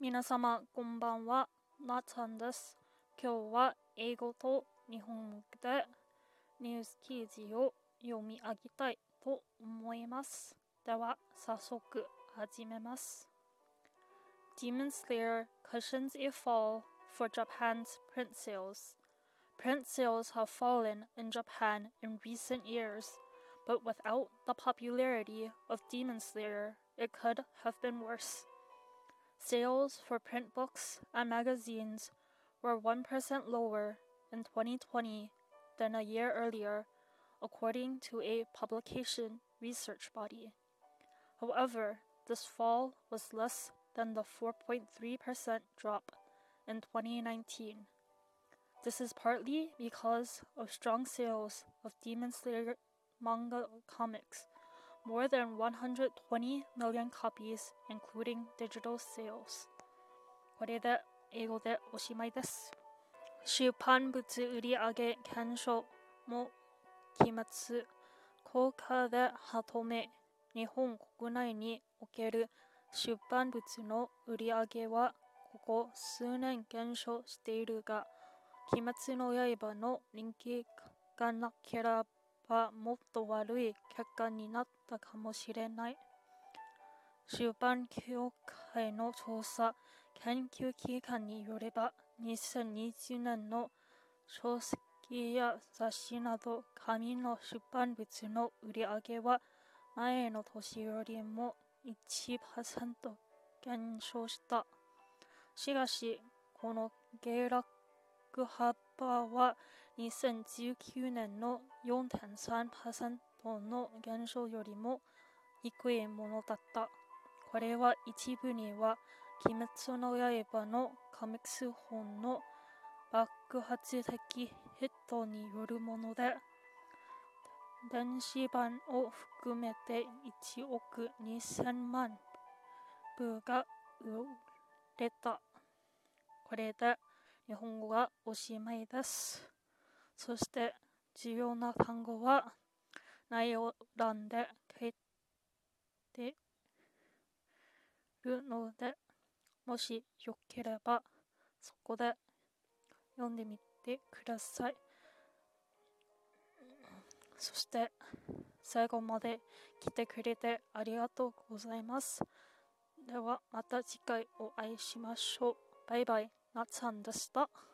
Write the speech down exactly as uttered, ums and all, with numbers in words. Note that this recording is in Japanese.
皆様こんばんは、なっちゃんです。今日は英語と日本語でニュース記事を読み上げたいと思います。では早速始めます。Demon Slayer cushions a fall for Japan's print sales. Print sales have fallen in Japan in recent years, but without the popularity of Demon Slayer, it could have been worse. Sales for print books and magazines were one percent lower in twenty twenty than a year earlier, according to a publication research body. However, this fall was less than the four point three percent drop in twenty nineteen. This is partly because of strong sales of Demon Slayer manga comics, more than one hundred twenty million copies, including digital sales. これで英語でおしまいです。出版物売上減少も期末効果で判め、日本国内における出版物の売上はここ数年減少しているが、鬼滅の刃の人気がなければもっと悪い結果になったかもしれない。出版協会の調査研究機関によれば、にせんにじゅうねんの書籍や雑誌など紙の出版物の売上は前の年よりも いちパーセント 減少した。しかし、この下落幅はにせんじゅうきゅうねんの よんてんさんパーセント の減少よりも低いものだった。これは一部には鬼滅の刃のコミックス本の爆発的ヒットによるもので、電子版を含めていちおくにせんまんぶが売れた。これで日本語がおしまいです。そして重要な単語は内容欄で書いているので、もしよければそこで読んでみてください。そして最後まで来てくれてありがとうございます。ではまた次回お会いしましょう。バイバイ、なっちゃんでした。